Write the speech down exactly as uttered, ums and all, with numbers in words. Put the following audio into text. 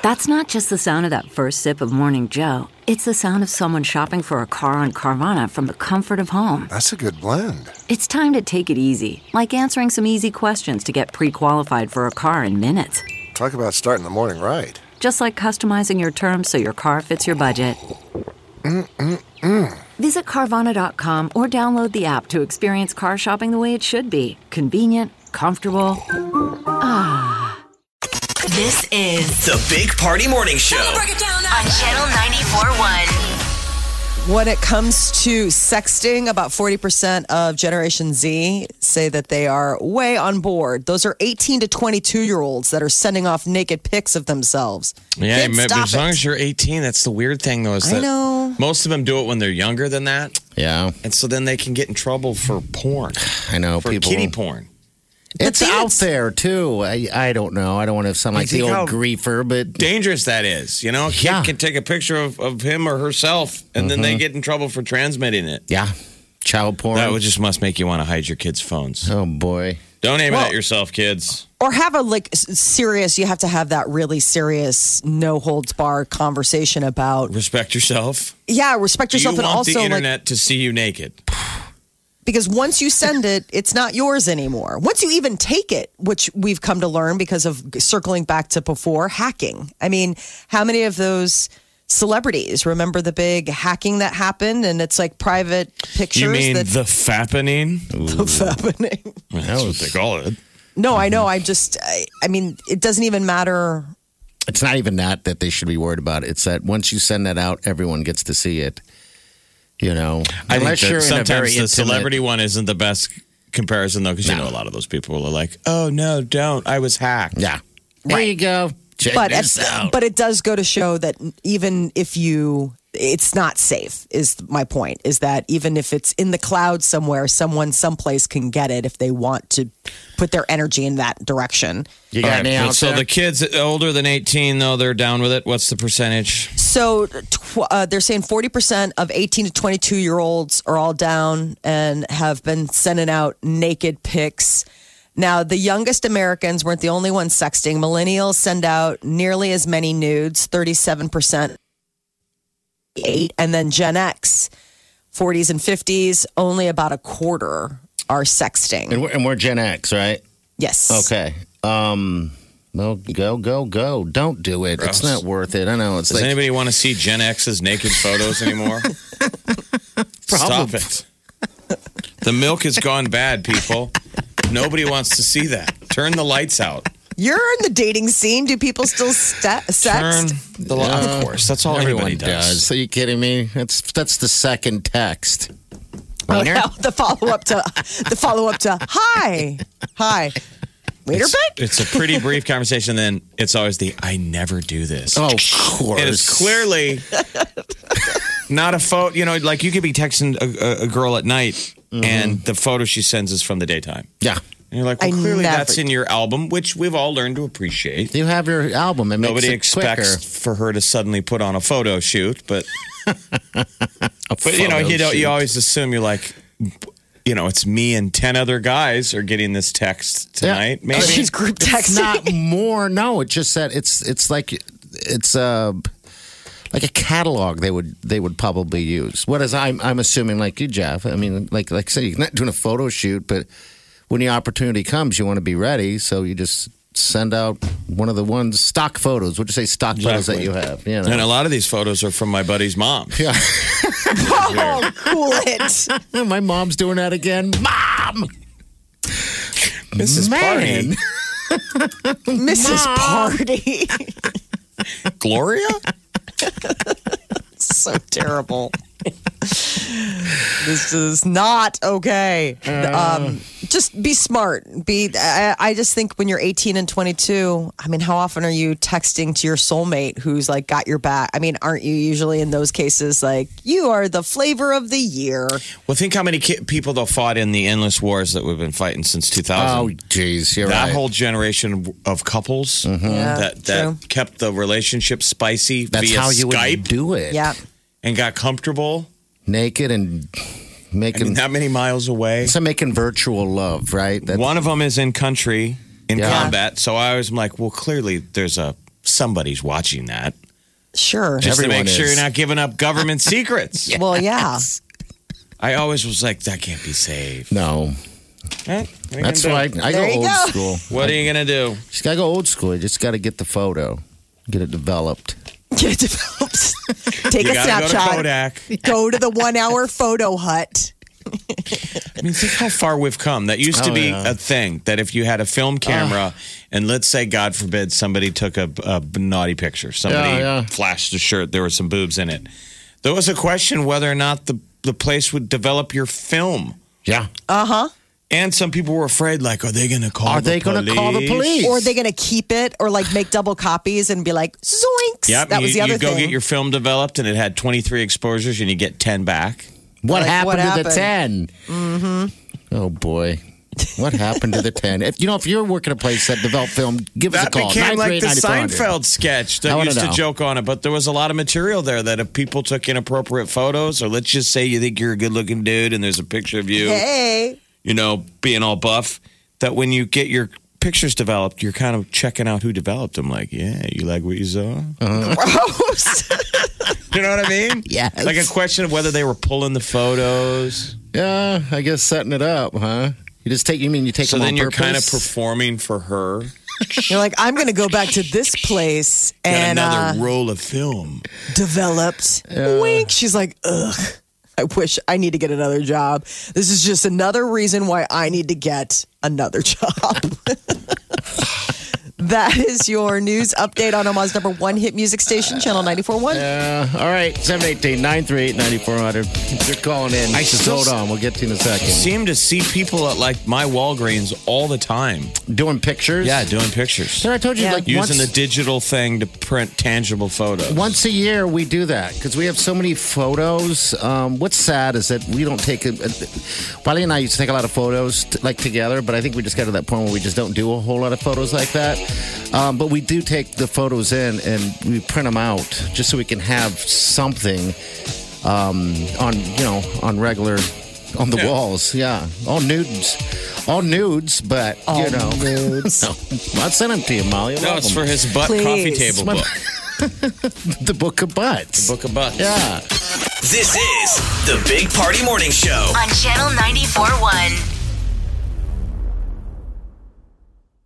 That's not just the sound of that first sip of Morning Joe. It's the sound of someone shopping for a car on Carvana from the comfort of home. That's a good blend. It's time to take it easy, like answering some easy questions to get pre-qualified for a car in minutes. Talk about starting the morning right. Just like customizing your terms so your car fits your budget. Mm-mm-mm. Visit Carvana dot com or download the app to experience car shopping the way it should be. Convenient, comfortable. Ah. This is the Big Party Morning Show break it down on Channel ninety-four point one. When it comes to sexting, about forty percent of Generation Z say that they are way on board. Those are eighteen to twenty-two-year-olds that are sending off naked pics of themselves. Yeah, Kids, maybe stop as long it. as you're eighteen, that's the weird thing, though. Is I that know. most of them do it when they're younger than that. Yeah. And so then they can get in trouble for porn. I know. For people. kiddie porn. It's But out it's- there, too. I, I don't know. I don't want to sound like the think how old griefer, but dangerous that is. You know, a kid Yeah. can take a picture of, of him or herself, and then they get in trouble for transmitting it. yeah. Child porn. That would just must make you want to hide your kids' phones. Oh, boy. Don't aim it Well- at yourself, kids. Or have a like s- serious, you have to have that really serious, no holds barred conversation about, Respect yourself. yeah, respect Do you yourself. And want also, the like, internet to see you naked? because once you send it, it's not yours anymore. Once you even take it, which we've come to learn because of circling back to before, hacking. I mean, how many of those celebrities remember the big hacking that happened? And it's like private pictures You mean that the fappening? happening. That's what they call it. No, I know. I just, I, I mean, it doesn't even matter. It's not even that that they should be worried about. It's that once you send that out, everyone gets to see it. You know, I think unless that you're in a sometimes very the intimate- celebrity one isn't the best comparison, though, because you No. know a lot of those people are like, "Oh no, don't! I was hacked." Yeah. There you go. Check But this at- out. but it does go to show that even if you, it's not safe. Is my point? Is that even if it's in the cloud somewhere, someone someplace can get it if they want to put their energy in that direction. you All got right, any but out so there? the kids older than eighteen, though, they're down with it. What's the percentage? So tw- uh, they're saying forty percent of eighteen to twenty-two year olds are all down and have been sending out naked pics. Now, the youngest Americans weren't the only ones sexting. Millennials send out nearly as many nudes, thirty-seven percent. Eight, and then Gen X, forties and fifties, only about a quarter are sexting. and, we're, and we're Gen X, right? Yes. Okay. Um. Well, go, go, go. Don't do it. Gross. It's not worth it. I know. It's Does like anybody want to see Gen X's naked photos anymore? Stop it. The milk has gone bad, people. Nobody wants to see that. Turn the lights out. You're in the dating scene. Do people still st- Turn sext? the light. Of course, that's all everyone everybody does. Are you kidding me? That's that's the second text. Oh, Wiener? yeah, the follow up to the follow up to hi, hi, waiter It's, pick. it's a pretty brief conversation. Then it's always the "I never do this." Oh, of course. And it's clearly not a photo. You know, like you could be texting a, a, a girl at night, and the photo she sends is from the daytime. Yeah. And you're like, well, I clearly never- that's in your album, which we've all learned to appreciate. You have your album. It Nobody makes it expects quicker. for her to suddenly put on a photo shoot, but A but you know, photo you don't. shoot. You always assume you're like, you know, it's me and ten other guys are getting this text tonight. Yeah. Maybe She's group It's texting. not more. No, it's just that it's it's like it's uh like a catalog they would they would probably use. Whereas I'm I'm assuming like you, Jeff. I mean, like like I said, you're not doing a photo shoot, but when the opportunity comes, you want to be ready. So you just send out one of the ones stock photos. Would you say stock photos that Exactly. you have? You know? And a lot of these photos are from my buddy's mom. Yeah. Oh, cool it. My mom's doing that again. Mom. Missus Man. Party. Missus Party. Gloria? So terrible. This is not okay. Um, just be smart. Be. I, I just think when you're eighteen and twenty-two, I mean, how often are you texting to your soulmate who's like got your back? I mean, aren't you usually in those cases like you are the flavor of the year? Well, think how many ki- people they'll fought in the endless wars that we've been fighting since two thousand. Oh, geez, you're that right. whole generation of couples Yeah, that true. that kept the relationship spicy That's via how you Skype would do it. Yeah. and got comfortable. Naked and I making. mean, that many miles away. it's like making virtual love, right? That, One of them is in country in Yeah. combat, so I was like, well, clearly there's a somebody's watching that. Sure. Just Everyone to make sure is. you're not giving up government secrets. Well, yeah. I always was like, that can't be saved. No. Eh, what are you That's gonna why I, do? I There go you old go. school. What are you going to do? Just gotta go old school. You just gotta get the photo, get it developed. Get it developed. Take You a got to go to snapshot. Kodak. Go to the one hour photo hut. I mean, think how far we've come. That used to Oh, be yeah. a thing, that if you had a film camera and let's say, God forbid, somebody took a, a naughty picture, somebody Yeah, yeah. flashed a shirt, there were some boobs in it. There was a question whether or not the, the place would develop your film. Yeah. Uh huh. And some people were afraid, like, are they going to call Are the they police? gonna call the police? Or are they going to keep it or like make double copies and be like, zoinks? Yep, that was you, the other you go thing. get your film developed and it had twenty-three exposures and you get ten back. What Like, happened what to happened? the ten? Mm-hmm. Oh boy. What happened to the ten? If you know, if you're working a place that developed film, give us a That call. became like the nine three eight, nine four hundred. Seinfeld sketch I that wanna used to know. joke on it, but there was a lot of material there that if people took inappropriate photos, or let's just say you think you're a good looking dude and there's a picture of you, Hey. you know, being all buff, that when you get your pictures developed, you're kind of checking out who developed them. Like, yeah, you like what you saw? Gross. You know what I mean? Yes. Like a question of whether they were pulling the photos. Yeah, I guess setting it up, huh? You just take. You mean you take So them then on you're purpose? kind of performing for her. You're like, I'm going to go back to this place Got and another uh, roll of film. developed. Wink. She's like, ugh. I wish I need to get another job. This is just another reason why I need to get another job. That is your news update on Omaha's number one hit music station, Channel ninety-four point one. Yeah. All right. seven one eight, nine three eight, nine four zero zero. If you're calling in, I just still hold s- on. We'll get to you in a second. Seem to see people at like my Walgreens all the time. Doing pictures? Yeah, doing pictures. So I told you, Yeah. like, Using once, the digital thing to print tangible photos. once a year we do that because we have so many photos. Um, what's sad is that we don't take a, a Wiley and I used to take a lot of photos t- like together, but I think we just got to that point where we just don't do a whole lot of photos like that. Um, but we do take the photos in and we print them out just so we can have something um, on, you know, on regular, on the Yeah. walls. Yeah. All nudes. All nudes, but, you know. nudes. No, I'll send them to you, Molly. I No, love it's them. for his butt Please. coffee table My- book. The Book of Butts. Book of butts. Yeah. This is the Big Party Morning Show. On Channel ninety-four point one.